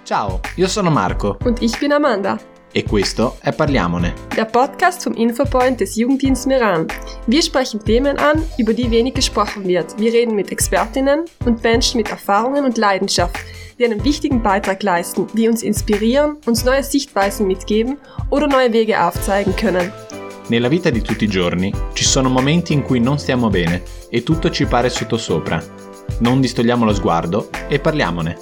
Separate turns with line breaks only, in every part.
Ciao, io sono Marco.
Und ich bin Amanda.
E questo è Parliamone.
Der Podcast vom Infopoint des Jugenddienst Meran. Wir sprechen Themen an, über die wenig gesprochen wird. Wir reden mit Expertinnen und Menschen mit Erfahrungen und Leidenschaft, die einen wichtigen Beitrag leisten, die uns inspirieren, uns neue Sichtweisen mitgeben oder neue Wege aufzeigen können.
Nella vita di tutti i giorni ci sono momenti in cui non stiamo bene e tutto ci pare sottosopra. Non distogliamo lo sguardo e parliamone.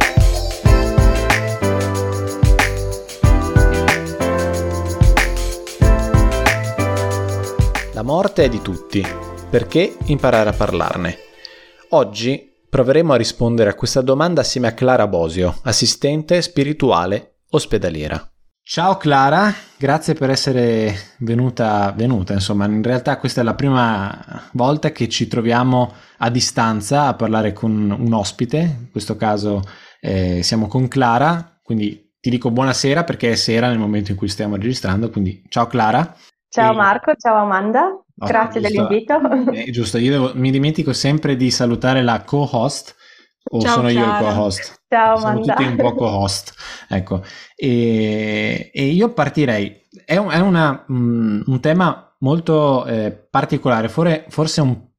La morte è di tutti, perché imparare a parlarne? Oggi proveremo a rispondere a questa domanda assieme a Clara Bosio, assistente spirituale ospedaliera. Ciao Clara, grazie per essere venuta, insomma, in realtà questa è la prima volta che ci troviamo a distanza a parlare con un ospite, in questo caso siamo con Clara, quindi ti dico buonasera perché è sera nel momento in cui stiamo registrando, quindi ciao Clara.
Ciao Marco, ciao Amanda, grazie dell'invito.
Giusto, mi dimentico sempre di salutare la co-host, o ciao, sono Clara. Io il co-host?
Ciao
Siamo
Amanda.
tutti un po' co-host, ecco. E io partirei, è un tema molto particolare, forse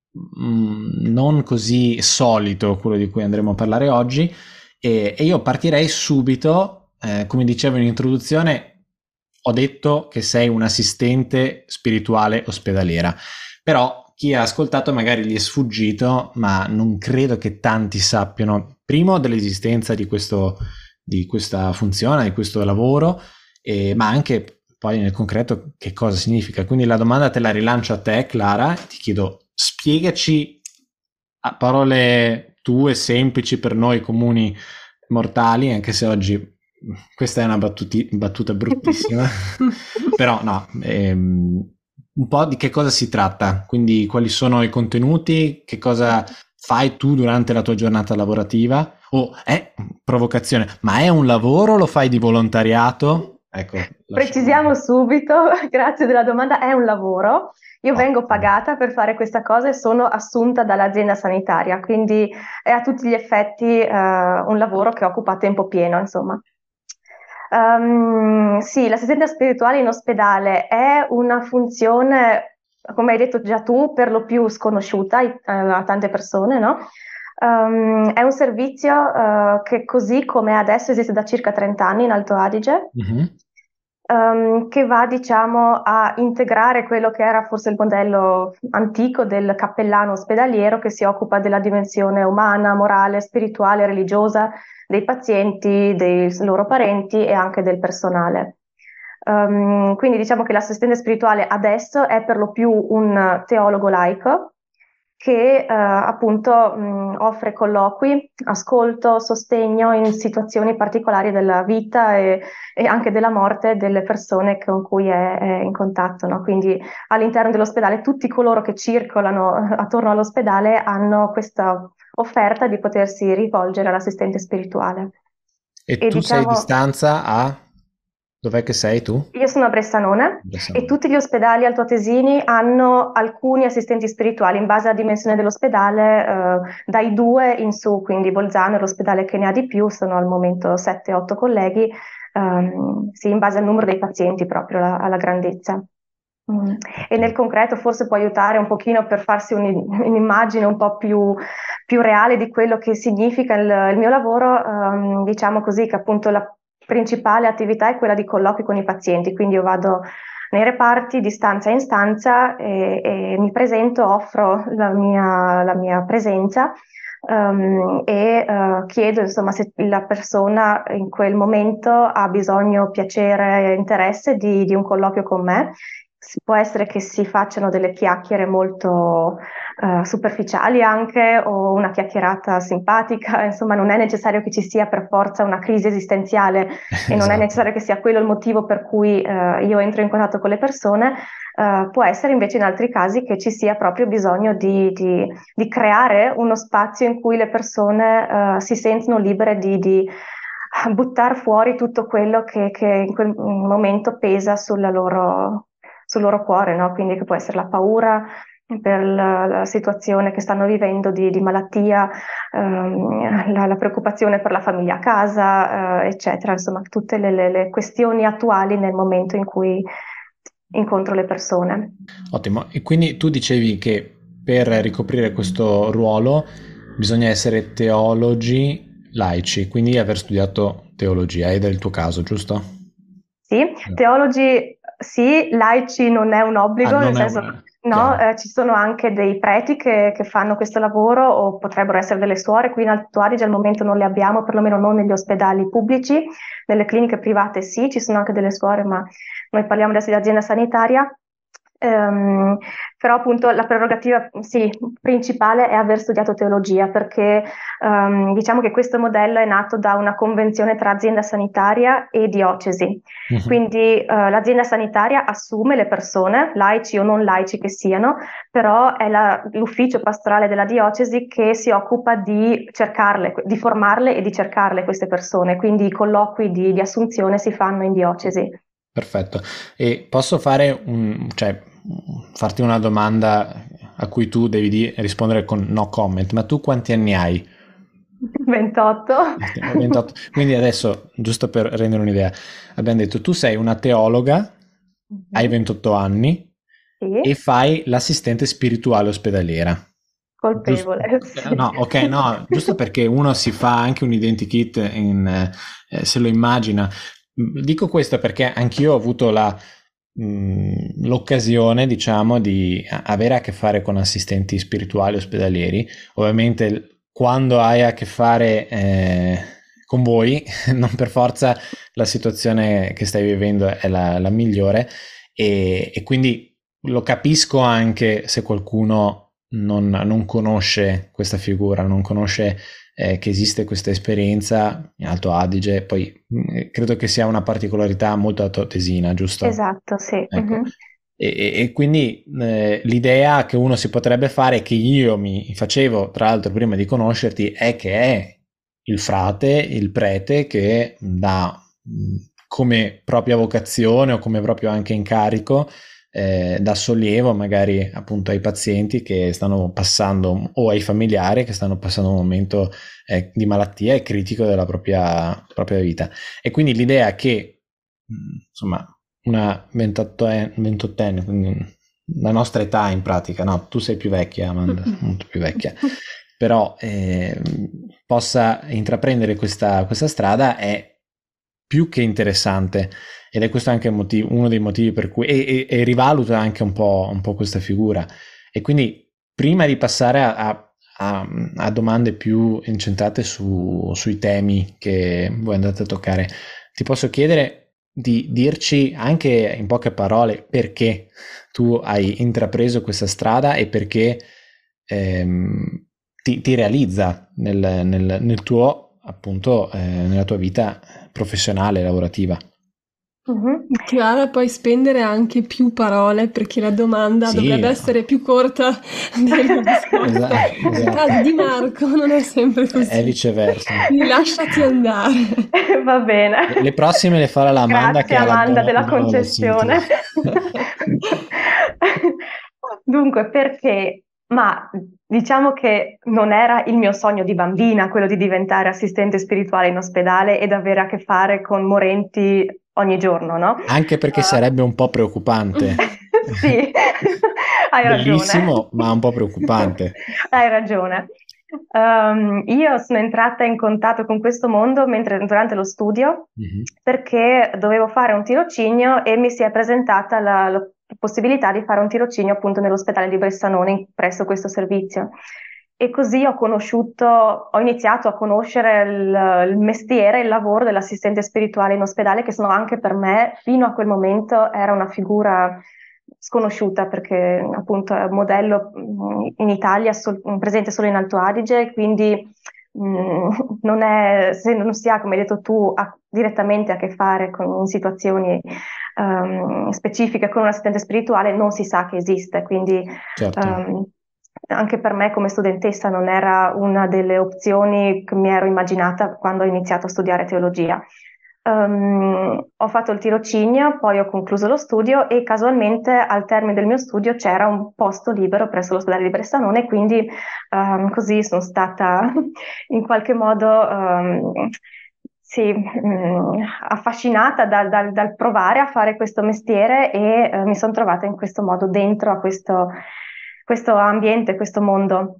non così solito quello di cui andremo a parlare oggi, e io partirei subito, come dicevo in introduzione. Ho detto che sei un assistente spirituale ospedaliera, però chi ha ascoltato magari gli è sfuggito, ma non credo che tanti sappiano, primo, dell'esistenza di questa funzione, di questo lavoro, ma anche poi nel concreto che cosa significa. Quindi la domanda te la rilancio a te, Clara, ti chiedo, spiegaci a parole tue, semplici per noi comuni mortali, anche se oggi questa è una battuta bruttissima, però no, un po' di che cosa si tratta, quindi quali sono i contenuti, che cosa fai tu durante la tua giornata lavorativa, provocazione, ma è un lavoro, lo fai di volontariato? Ecco,
precisiamo subito, grazie della domanda, è un lavoro. Io vengo pagata per fare questa cosa e sono assunta dall'azienda sanitaria, quindi è a tutti gli effetti un lavoro che occupa a tempo pieno, insomma. Sì, l'assistente spirituale in ospedale è una funzione, come hai detto già tu, per lo più sconosciuta a tante persone, no? È un servizio che così come adesso esiste da circa 30 anni in Alto Adige, che va, diciamo, a integrare quello che era forse il modello antico del cappellano ospedaliero che si occupa della dimensione umana, morale, spirituale, religiosa dei pazienti, dei loro parenti e anche del personale. Quindi diciamo che l'assistente spirituale adesso è per lo più un teologo laico che appunto offre colloqui, ascolto, sostegno in situazioni particolari della vita e anche della morte delle persone con cui è in contatto, no? Quindi all'interno dell'ospedale tutti coloro che circolano attorno all'ospedale hanno questa offerta di potersi rivolgere all'assistente spirituale.
E tu sei a distanza a... Dov'è che sei tu?
Io sono a Bressanone e tutti gli ospedali altoatesini hanno alcuni assistenti spirituali in base alla dimensione dell'ospedale, dai 2 in su, quindi Bolzano è l'ospedale che ne ha di più, sono al momento 7-8 colleghi, sì, in base al numero dei pazienti proprio, alla grandezza. E nel concreto forse può aiutare un pochino per farsi un'immagine un po' più reale di quello che significa il mio lavoro, diciamo così, che appunto la principale attività è quella di colloqui con i pazienti, quindi io vado nei reparti di stanza in stanza e mi presento, offro la mia presenza e chiedo insomma se la persona in quel momento ha bisogno, piacere e interesse di un colloquio con me. Può essere che si facciano delle chiacchiere molto superficiali anche, o una chiacchierata simpatica, insomma non è necessario che ci sia per forza una crisi esistenziale e non è necessario che sia quello il motivo per cui io entro in contatto con le persone. Può essere invece in altri casi che ci sia proprio bisogno di creare uno spazio in cui le persone si sentono libere di buttare fuori tutto quello che in quel momento pesa sul loro cuore, no? Quindi che può essere la paura, per la situazione che stanno vivendo di malattia, la preoccupazione per la famiglia a casa, eccetera, insomma, tutte le questioni attuali nel momento in cui incontro le persone.
Ottimo. E quindi tu dicevi che per ricoprire questo ruolo bisogna essere teologi laici, quindi aver studiato teologia, ed è il tuo caso, giusto?
Sì, teologi sì, laici non è un obbligo, nel
Non è
senso
una...
no,
chiaro.
ci sono anche dei preti che fanno questo lavoro o potrebbero essere delle suore, qui in Alto Adige al momento non le abbiamo, perlomeno non negli ospedali pubblici, nelle cliniche private sì, ci sono anche delle suore, ma noi parliamo adesso di azienda sanitaria. Però appunto la prerogativa sì, principale è aver studiato teologia perché diciamo che questo modello è nato da una convenzione tra azienda sanitaria e diocesi.
Mhm.
Quindi l'azienda sanitaria assume le persone, laici o non laici che siano, però è l'ufficio pastorale della diocesi che si occupa di cercarle, di formarle e di cercarle queste persone, quindi i colloqui di assunzione si fanno in diocesi.
Perfetto. E posso fare cioè, farti una domanda a cui tu devi rispondere con no comment, ma tu quanti anni hai?
28.
28. Quindi adesso, giusto per rendere un'idea, abbiamo detto tu sei una teologa, hai
Mhm.
28 anni e
Sì,
fai l'assistente spirituale ospedaliera. Giusto?
colpevole, sì.
No, ok, no, giusto perché uno si fa anche un identikit se lo immagina. Dico questo perché anch'io ho avuto l'occasione, diciamo, di avere a che fare con assistenti spirituali ospedalieri. Ovviamente, quando hai a che fare con voi, non per forza la situazione che stai vivendo è la migliore, e quindi lo capisco anche se qualcuno non conosce questa figura, non conosce che esiste questa esperienza in Alto Adige. Poi credo che sia una particolarità molto altoatesina, giusto?
Esatto, sì.
Ecco.
Mhm.
E quindi l'idea che uno si potrebbe fare, che io mi facevo tra l'altro prima di conoscerti, è che è il frate, il prete che dà come propria vocazione o come proprio anche incarico, dà sollievo magari appunto ai pazienti che stanno passando o ai familiari che stanno passando un momento di malattia e critico della propria vita. E quindi l'idea che insomma una 28enne, quindi la nostra età in pratica, no, tu sei più vecchia, Amanda, molto più vecchia, però possa intraprendere questa strada è più che interessante, ed è questo anche uno dei motivi per cui e rivaluta anche un po' questa figura. E quindi prima di passare a domande più incentrate sui temi che voi andate a toccare, ti posso chiedere di dirci anche in poche parole perché tu hai intrapreso questa strada e perché ti realizza nel tuo, appunto, nella tua vita professionale, lavorativa.
Mhm.
Chiara, puoi spendere anche più parole perché la domanda
Sì,
dovrebbe essere più corta della risposta. Nel
esatto.
caso di Marco non è sempre
È
così.
viceversa.
Quindi lasciati andare.
Va bene.
Le prossime le farà l'Amanda che
Grazie
ha
Amanda della
il dono della sintesi.
concessione. Dunque, perché? Ma diciamo che non era il mio sogno di bambina quello di diventare assistente spirituale in ospedale ed avere a che fare con morenti ogni giorno, no?
Anche perché sarebbe un po' preoccupante.
Sì, hai ragione.
Bellissimo, ma un po' preoccupante.
Hai ragione. Io sono entrata in contatto con questo mondo durante lo studio
Mhm.
perché dovevo fare un tirocinio e mi si è presentata la possibilità di fare un tirocinio appunto nell'ospedale di Bressanone presso questo servizio. E così ho iniziato a conoscere il mestiere, il lavoro dell'assistente spirituale in ospedale, che sono anche per me, fino a quel momento, era una figura sconosciuta perché appunto è un modello in Italia presente solo in Alto Adige, quindi se non si ha, come hai detto tu, direttamente a che fare con situazioni specifiche con un assistente spirituale, non si sa che esiste, quindi
Certo.
anche per me come studentessa non era una delle opzioni che mi ero immaginata quando ho iniziato a studiare teologia. Ho fatto il tirocinio, poi ho concluso lo studio e casualmente al termine del mio studio c'era un posto libero presso l'ospedale di Bressanone, quindi così sono stata in qualche modo sì, affascinata dal provare a fare questo mestiere e mi sono trovata in questo modo dentro a questo ambiente, questo mondo.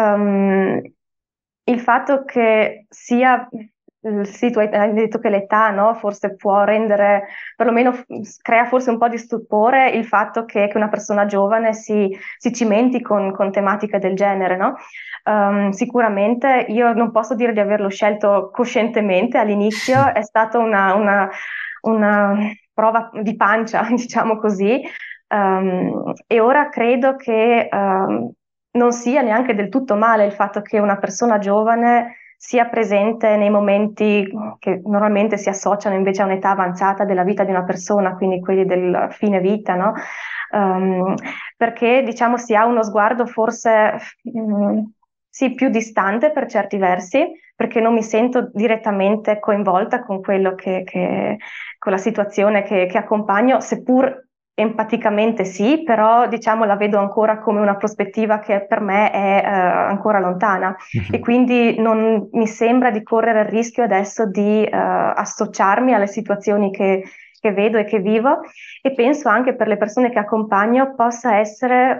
Il fatto che sia, sì, tu hai detto che l'età, no, forse può rendere, perlomeno crea forse un po' di stupore il fatto che una persona giovane si cimenti con tematiche del genere, no? Sicuramente io non posso dire di averlo scelto coscientemente all'inizio, è stata una prova di pancia, diciamo così, e ora credo che non sia neanche del tutto male il fatto che una persona giovane sia presente nei momenti che normalmente si associano invece a un'età avanzata della vita di una persona, quindi quelli del fine vita, no? Perché diciamo si ha uno sguardo forse sì, più distante per certi versi, perché non mi sento direttamente coinvolta con quello con la situazione che accompagno, seppur empaticamente sì, però diciamo la vedo ancora come una prospettiva che per me è ancora lontana e quindi non mi sembra di correre il rischio adesso di associarmi alle situazioni che vedo e che vivo e penso anche per le persone che accompagno possa essere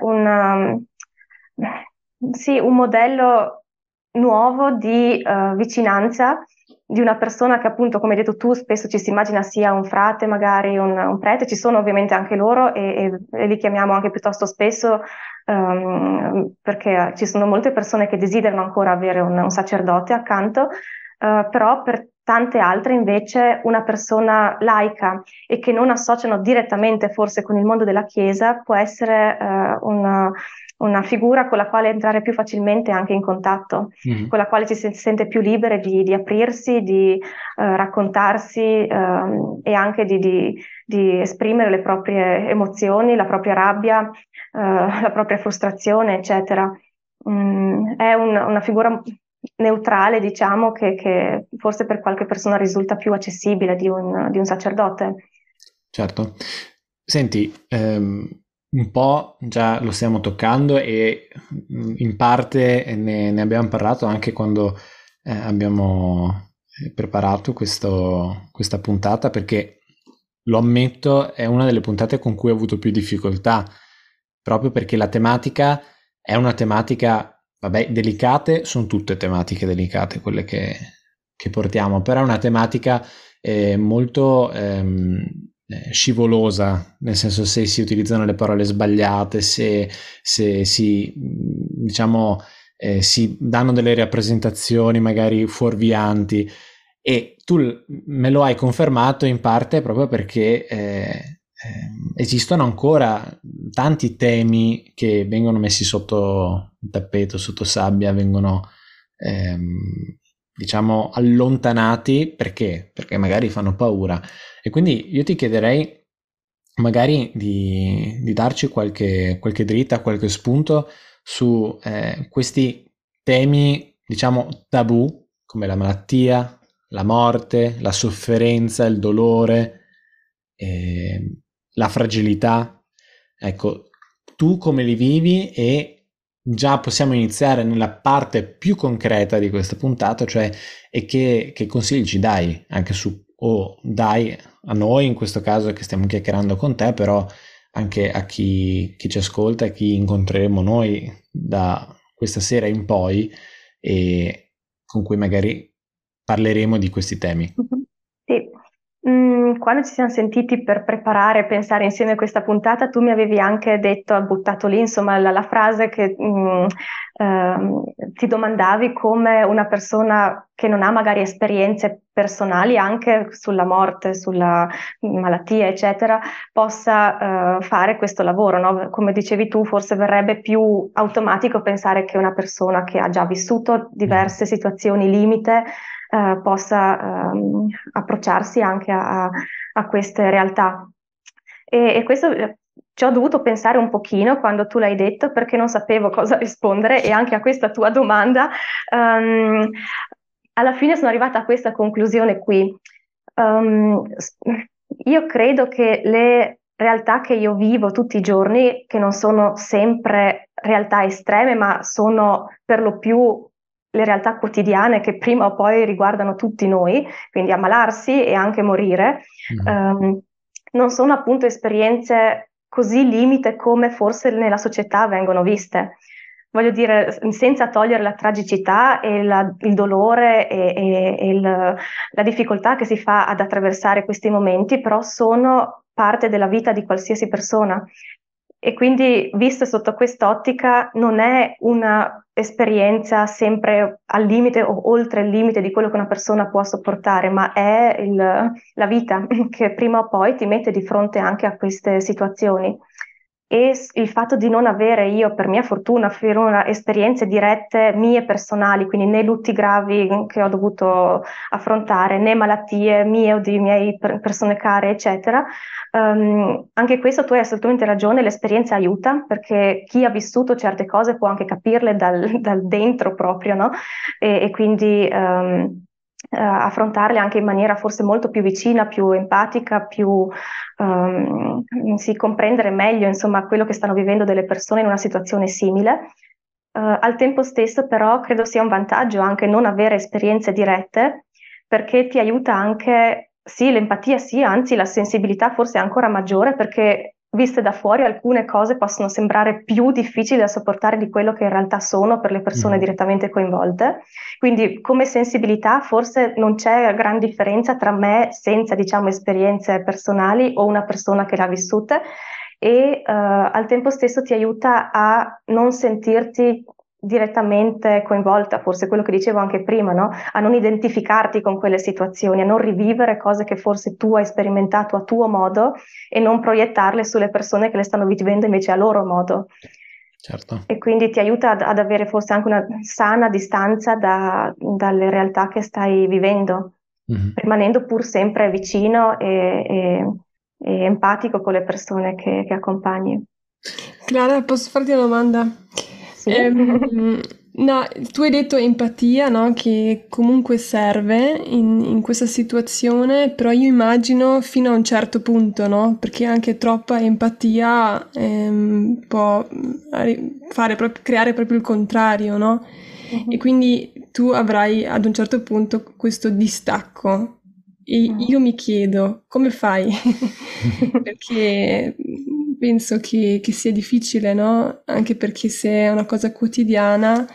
sì, un modello nuovo di vicinanza di una persona che appunto, come hai detto tu, spesso ci si immagina sia un frate, magari un prete, ci sono ovviamente anche loro e li chiamiamo anche piuttosto spesso perché ci sono molte persone che desiderano ancora avere un sacerdote accanto, però per tante altre invece una persona laica e che non associano direttamente forse con il mondo della Chiesa può essere una figura con la quale entrare più facilmente anche in contatto, con la quale ci si sente più libere di aprirsi, di raccontarsi e anche di esprimere le proprie emozioni, la propria rabbia, la propria frustrazione, eccetera. È una figura neutrale, diciamo, che forse per qualche persona risulta più accessibile di un sacerdote.
Certo. Senti, un po' già lo stiamo toccando e in parte ne abbiamo parlato anche quando abbiamo preparato questa puntata, perché lo ammetto, è una delle puntate con cui ho avuto più difficoltà, proprio perché la tematica è una tematica, vabbè, delicate, sono tutte tematiche delicate quelle che portiamo, però è una tematica molto scivolosa, nel senso se si utilizzano le parole sbagliate, se si diciamo si danno delle rappresentazioni magari fuorvianti, e tu me lo hai confermato in parte proprio perché esistono ancora tanti temi che vengono messi sotto il tappeto, sotto sabbia, vengono diciamo allontanati perché magari fanno paura. E quindi io ti chiederei magari di darci qualche dritta, qualche spunto su questi temi, diciamo, tabù, come la malattia, la morte, la sofferenza, il dolore, la fragilità. Ecco, tu come li vivi? E già possiamo iniziare nella parte più concreta di questa puntata, cioè e che consigli ci dai anche su, o dai a noi in questo caso che stiamo chiacchierando con te, però anche a chi ci ascolta e chi incontreremo noi da questa sera in poi e con cui magari parleremo di questi temi.
Sì. Quando ci siamo sentiti per preparare e pensare insieme a questa puntata, tu mi avevi anche detto, buttato lì, insomma, la frase che ti domandavi come una persona che non ha magari esperienze personali anche sulla morte, sulla malattia, eccetera, possa fare questo lavoro, no? Come dicevi tu, forse verrebbe più automatico pensare che una persona che ha già vissuto diverse situazioni limite possa approcciarsi anche a queste realtà. E questo ci ho dovuto pensare un pochino quando tu l'hai detto perché non sapevo cosa rispondere e anche a questa tua domanda alla fine sono arrivata a questa conclusione qui. Io credo che le realtà che io vivo tutti i giorni, che non sono sempre realtà estreme, ma sono per lo più le realtà quotidiane che prima o poi riguardano tutti noi, quindi ammalarsi e anche morire, non sono appunto esperienze così limite come forse nella società vengono viste. Voglio dire, senza togliere la tragicità e il dolore e la difficoltà che si fa ad attraversare questi momenti, però sono parte della vita di qualsiasi persona. E quindi, visto sotto quest'ottica, non è una esperienza sempre al limite o oltre il limite di quello che una persona può sopportare, ma è la vita che prima o poi ti mette di fronte anche a queste situazioni. E il fatto di non avere io, per mia fortuna, finora esperienze dirette mie personali, quindi né lutti gravi che ho dovuto affrontare, né malattie mie o di miei persone care, eccetera. Anche questo tu hai assolutamente ragione, l'esperienza aiuta perché chi ha vissuto certe cose può anche capirle dal dentro proprio, no? E quindi affrontarle anche in maniera forse molto più vicina, più empatica, più sì, comprendere meglio insomma quello che stanno vivendo delle persone in una situazione simile. Al tempo stesso però credo sia un vantaggio anche non avere esperienze dirette perché ti aiuta anche, sì, l'empatia sì, anzi la sensibilità forse è ancora maggiore perché viste da fuori alcune cose possono sembrare più difficili da sopportare di quello che in realtà sono per le persone direttamente coinvolte. Quindi come sensibilità forse non c'è gran differenza tra me senza, diciamo, esperienze personali o una persona che le ha vissute e al tempo stesso ti aiuta a non sentirti direttamente coinvolta, forse quello che dicevo anche prima, no? A non identificarti con quelle situazioni, a non rivivere cose che forse tu hai sperimentato a tuo modo e non proiettarle sulle persone che le stanno vivendo invece a loro modo.
Certo.
E quindi ti aiuta ad avere forse anche una sana distanza dalle realtà che stai vivendo, rimanendo pur sempre vicino e empatico con le persone che accompagni.
Clara, posso farti una domanda?
Sì.
No, tu hai detto empatia, no? Che comunque serve in questa situazione, però io immagino fino a un certo punto, no? Perché anche troppa empatia può creare proprio il contrario, no? E quindi tu avrai ad un certo punto questo distacco. E io mi chiedo, come fai? Perché penso che sia difficile, no? Anche perché se è una cosa quotidiana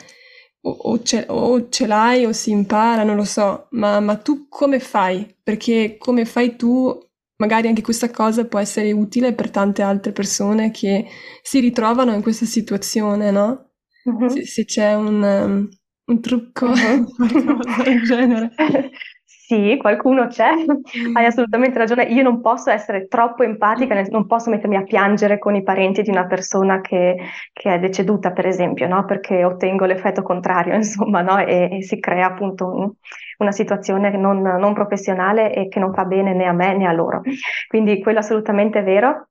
o ce l'hai o si impara, non lo so, ma tu come fai? Perché come fai tu, magari anche questa cosa può essere utile per tante altre persone che si ritrovano in questa situazione, no? Se c'è un trucco, qualcosa del genere.
Sì, qualcuno c'è, hai assolutamente ragione. Io non posso essere troppo empatica, non posso mettermi a piangere con i parenti di una persona che è deceduta, per esempio, no? Perché ottengo l'effetto contrario, insomma, no? E si crea appunto una situazione non professionale e che non fa bene né a me né a loro. Quindi quello assolutamente è vero.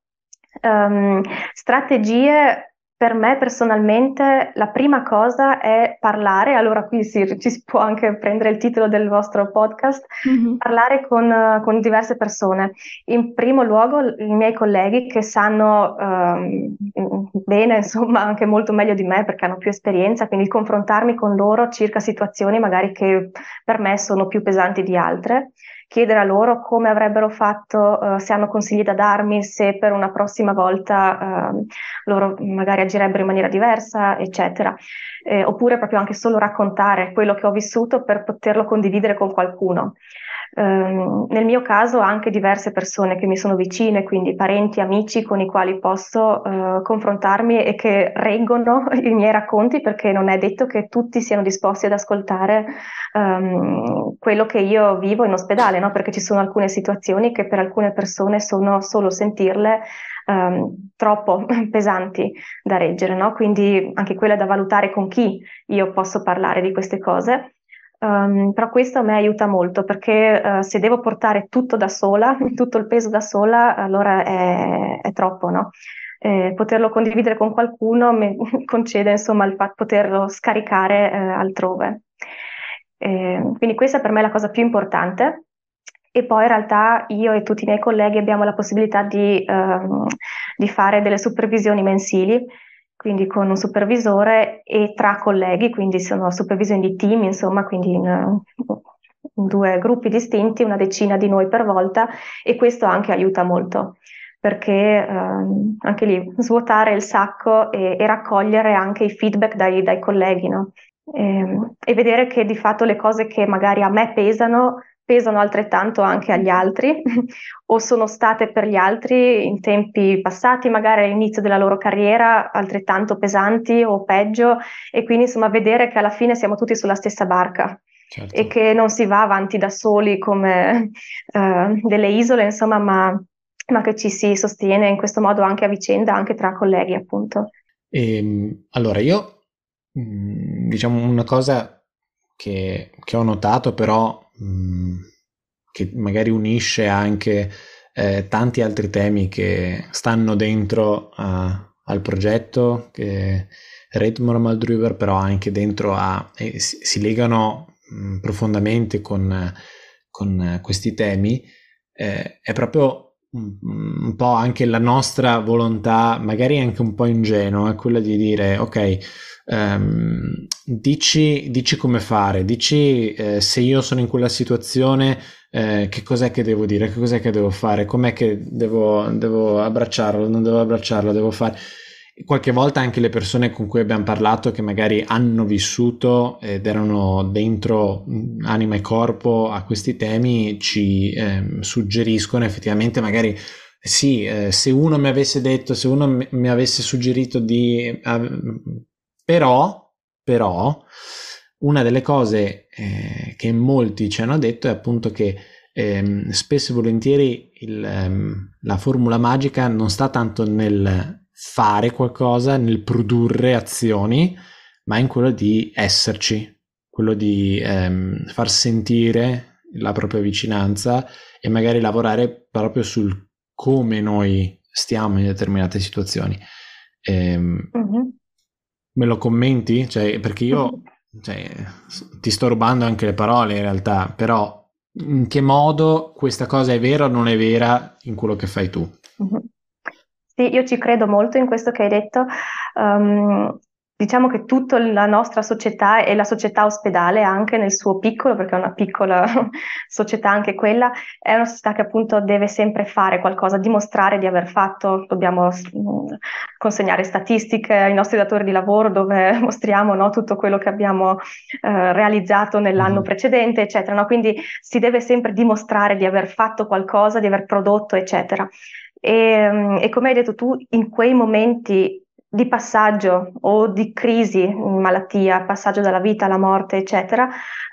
Strategie per me personalmente la prima cosa è parlare, allora qui ci si può anche prendere il titolo del vostro podcast, parlare con diverse persone. In primo luogo i miei colleghi che sanno bene, insomma, anche molto meglio di me perché hanno più esperienza, quindi confrontarmi con loro circa situazioni magari che per me sono più pesanti di altre, chiedere a loro come avrebbero fatto, se hanno consigli da darmi, se per una prossima volta loro magari agirebbero in maniera diversa, eccetera. Oppure proprio anche solo raccontare quello che ho vissuto per poterlo condividere con qualcuno. Nel mio caso anche diverse persone che mi sono vicine, quindi parenti, amici con i quali posso confrontarmi e che reggono i miei racconti perché non è detto che tutti siano disposti ad ascoltare quello che io vivo in ospedale, no? Perché ci sono alcune situazioni che per alcune persone sono solo sentirle troppo pesanti da reggere, no? Quindi anche quella è da valutare con chi io posso parlare di queste cose. Però questo a me aiuta molto perché se devo portare tutto da sola, tutto il peso da sola, allora è troppo, no? Poterlo condividere con qualcuno mi concede insomma il fatto di poterlo scaricare altrove. Quindi questa per me è la cosa più importante. e poi in realtà io e tutti i miei colleghi abbiamo la possibilità di fare delle supervisioni mensili, quindi con un supervisore e tra colleghi, quindi sono supervisioni di team, insomma, quindi in due gruppi distinti, una decina di noi per volta, e questo anche aiuta molto, perché anche lì svuotare il sacco e raccogliere anche i feedback dai colleghi, no? E vedere che di fatto le cose che magari a me pesano altrettanto anche agli altri o sono state per gli altri in tempi passati, magari all'inizio della loro carriera, altrettanto pesanti o peggio, e quindi insomma vedere che alla fine siamo tutti sulla stessa barca.
Certo.
E che non si va avanti da soli come delle isole, insomma, ma che ci si sostiene in questo modo anche a vicenda, anche tra colleghi, appunto.
Allora, io diciamo una cosa che ho notato, però che magari unisce anche tanti altri temi che stanno dentro al progetto, che Red Maldruber, però anche dentro si legano profondamente con questi temi, è proprio un po' anche la nostra volontà, magari anche un po' ingenua, è quella di dire ok, dici come fare, dici se io sono in quella situazione, che cos'è che devo dire, che cos'è che devo fare, com'è che devo abbracciarlo, non devo abbracciarlo, devo fare. Qualche volta anche le persone con cui abbiamo parlato, che magari hanno vissuto ed erano dentro anima e corpo a questi temi, ci suggeriscono effettivamente magari sì, se uno mi avesse detto, se uno mi avesse suggerito di però una delle cose che molti ci hanno detto è appunto che spesso e volentieri la formula magica non sta tanto nel fare qualcosa, nel produrre azioni, ma in quello di esserci, quello di far sentire la propria vicinanza e magari lavorare proprio sul come noi stiamo in determinate situazioni. Me lo commenti? Cioè, perché io ti sto rubando anche le parole in realtà, però in che modo questa cosa è vera o non è vera in quello che fai tu?
Sì, io ci credo molto in questo che hai detto. Diciamo che tutta la nostra società e la società ospedale anche nel suo piccolo, perché è una piccola società anche quella, è una società che appunto deve sempre fare qualcosa, dimostrare di aver fatto, dobbiamo consegnare statistiche ai nostri datori di lavoro dove mostriamo, no, tutto quello che abbiamo realizzato nell'anno precedente, eccetera, no? Quindi si deve sempre dimostrare di aver fatto qualcosa, di aver prodotto, eccetera. E come hai detto tu, in quei momenti di passaggio o di crisi, malattia, passaggio dalla vita alla morte, eccetera,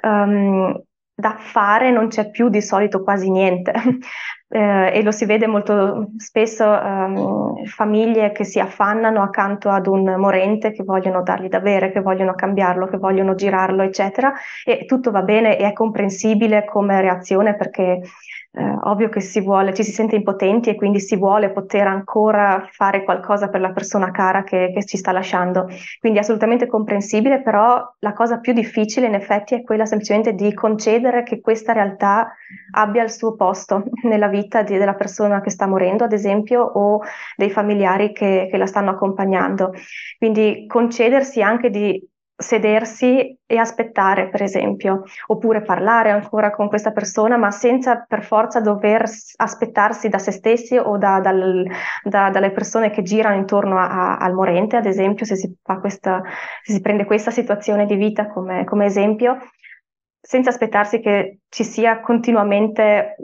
da fare non c'è più di solito quasi niente. E lo si vede molto spesso, famiglie che si affannano accanto ad un morente, che vogliono dargli da bere, che vogliono cambiarlo, che vogliono girarlo, eccetera, e tutto va bene e è comprensibile come reazione, perché ovvio che ci si sente impotenti e quindi si vuole poter ancora fare qualcosa per la persona cara che ci sta lasciando. Quindi è assolutamente comprensibile, però la cosa più difficile in effetti è quella semplicemente di concedere che questa realtà abbia il suo posto nella vita della persona che sta morendo, ad esempio, o dei familiari che la stanno accompagnando. Quindi concedersi anche di sedersi e aspettare, per esempio, oppure parlare ancora con questa persona, ma senza per forza dover aspettarsi da se stessi o dalle persone che girano intorno al morente, ad esempio, se si prende questa situazione di vita come esempio, senza aspettarsi che ci sia continuamente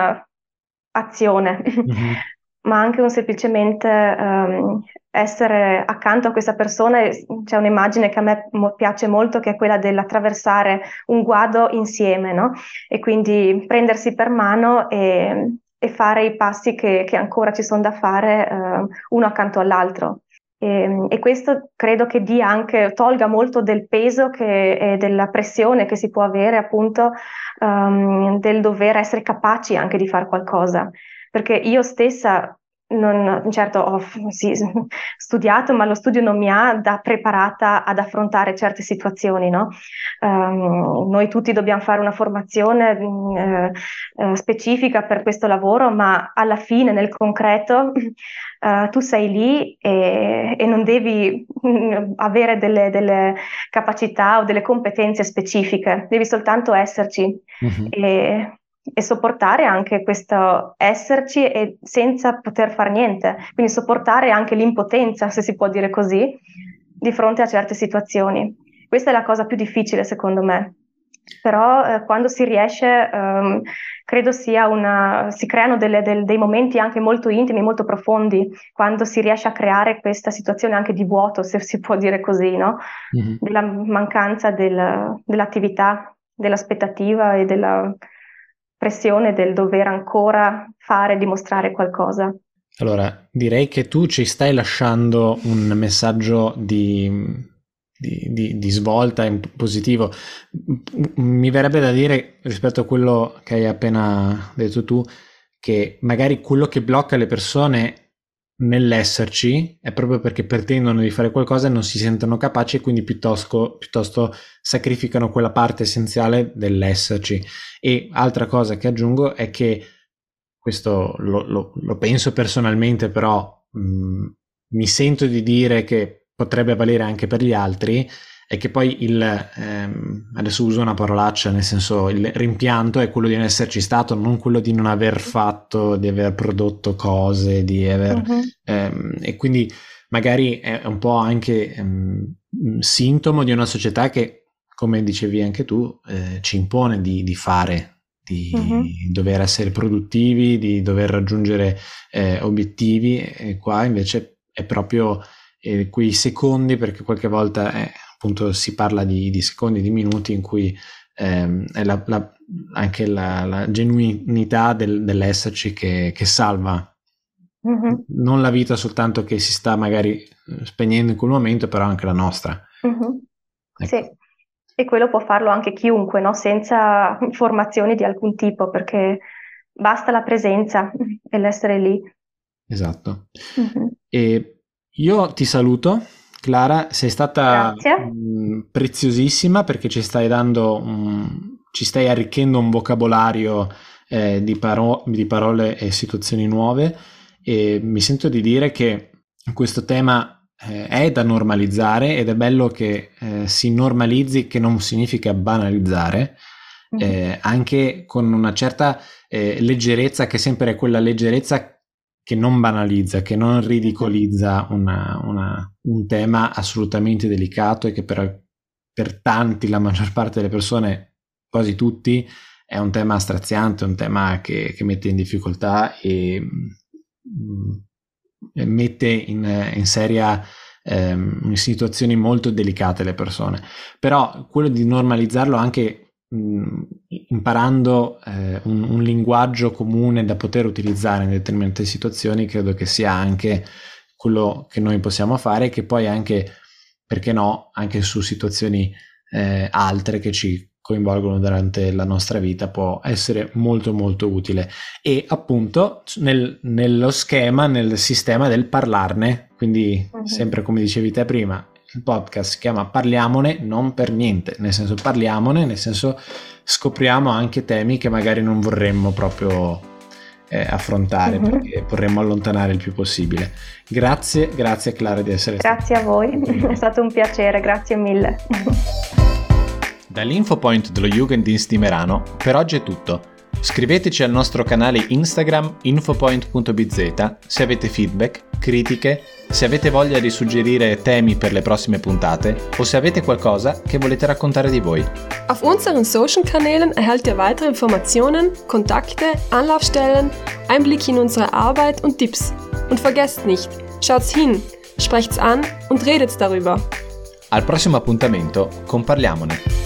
un'azione, ma anche semplicemente essere accanto a questa persona. C'è un'immagine che a me piace molto, che è quella dell'attraversare un guado insieme, no? E quindi prendersi per mano e fare i passi che ancora ci sono da fare, uno accanto all'altro. E questo credo che tolga molto del peso e della pressione che si può avere, appunto, del dover essere capaci anche di fare qualcosa. Perché io stessa certo ho studiato, ma lo studio non mi ha preparata ad affrontare certe situazioni, no? Noi tutti dobbiamo fare una formazione specifica per questo lavoro, ma alla fine, nel concreto, tu sei lì e non devi avere delle capacità o delle competenze specifiche, devi soltanto esserci. E sopportare anche questo esserci e senza poter fare niente, quindi sopportare anche l'impotenza, se si può dire così, di fronte a certe situazioni. Questa è la cosa più difficile secondo me, però quando si riesce, credo si creano dei momenti anche molto intimi, molto profondi, quando si riesce a creare questa situazione anche di vuoto, se si può dire così, no? Della mancanza dell'attività, dell'aspettativa e della pressione del dover ancora fare, dimostrare qualcosa.
Allora, direi che tu ci stai lasciando un messaggio di svolta in positivo. Mi verrebbe da dire, rispetto a quello che hai appena detto tu, che magari quello che blocca le persone nell'esserci è proprio perché pretendono di fare qualcosa e non si sentono capaci e quindi piuttosto sacrificano quella parte essenziale dell'esserci. E altra cosa che aggiungo è che questo lo penso personalmente, però mi sento di dire che potrebbe valere anche per gli altri, è che poi adesso uso una parolaccia, nel senso il rimpianto è quello di non esserci stato, non quello di non aver fatto, di aver prodotto cose, di aver e quindi magari è un po' anche sintomo di una società che, come dicevi anche tu, ci impone di fare, di dover essere produttivi, di dover raggiungere obiettivi, e qua invece è proprio quei secondi, perché qualche volta appunto si parla di secondi, di minuti in cui è anche la genuinità dell'esserci che salva non la vita soltanto che si sta magari spegnendo in quel momento, però anche la nostra. Ecco.
Sì, e quello può farlo anche chiunque, no? Senza formazioni di alcun tipo, perché basta la presenza e l'essere lì.
Esatto. E io ti saluto, Clara, sei stata preziosissima, perché ci stai arricchendo un vocabolario di parole e situazioni nuove, e mi sento di dire che questo tema è da normalizzare, ed è bello che si normalizzi, che non significa banalizzare, anche con una certa leggerezza, che sempre è quella leggerezza che non banalizza, che non ridicolizza un tema assolutamente delicato, e che per tanti, la maggior parte delle persone, quasi tutti, è un tema straziante, un tema che mette in difficoltà e mette in seria in situazioni molto delicate le persone. Però quello di normalizzarlo anche imparando un linguaggio comune da poter utilizzare in determinate situazioni, credo che sia anche quello che noi possiamo fare, che poi anche, perché no, anche su situazioni altre che ci coinvolgono durante la nostra vita può essere molto molto utile. E appunto nello schema, nel sistema del parlarne, quindi sempre come dicevi te prima, il podcast si chiama Parliamone, non per niente, nel senso parliamone, nel senso scopriamo anche temi che magari non vorremmo proprio affrontare, perché vorremmo allontanare il più possibile. Grazie Clara di essere stata.
Grazie a voi, è stato un piacere, grazie mille.
Dall'Infopoint dello Jugenddienst di Merano per oggi è tutto. Scriveteci al nostro canale Instagram infopoint.bz se avete feedback, critiche, se avete voglia di suggerire temi per le prossime puntate o se avete qualcosa che volete raccontare di voi.
Auf unseren Social-Kanälen erhaltet ihr weitere Informationen, Kontakte, Anlaufstellen, Einblicke in unsere Arbeit und Tipps. Und vergesst nicht, schaut's hin, sprecht's an und redet's darüber.
Al prossimo appuntamento con Parliamone.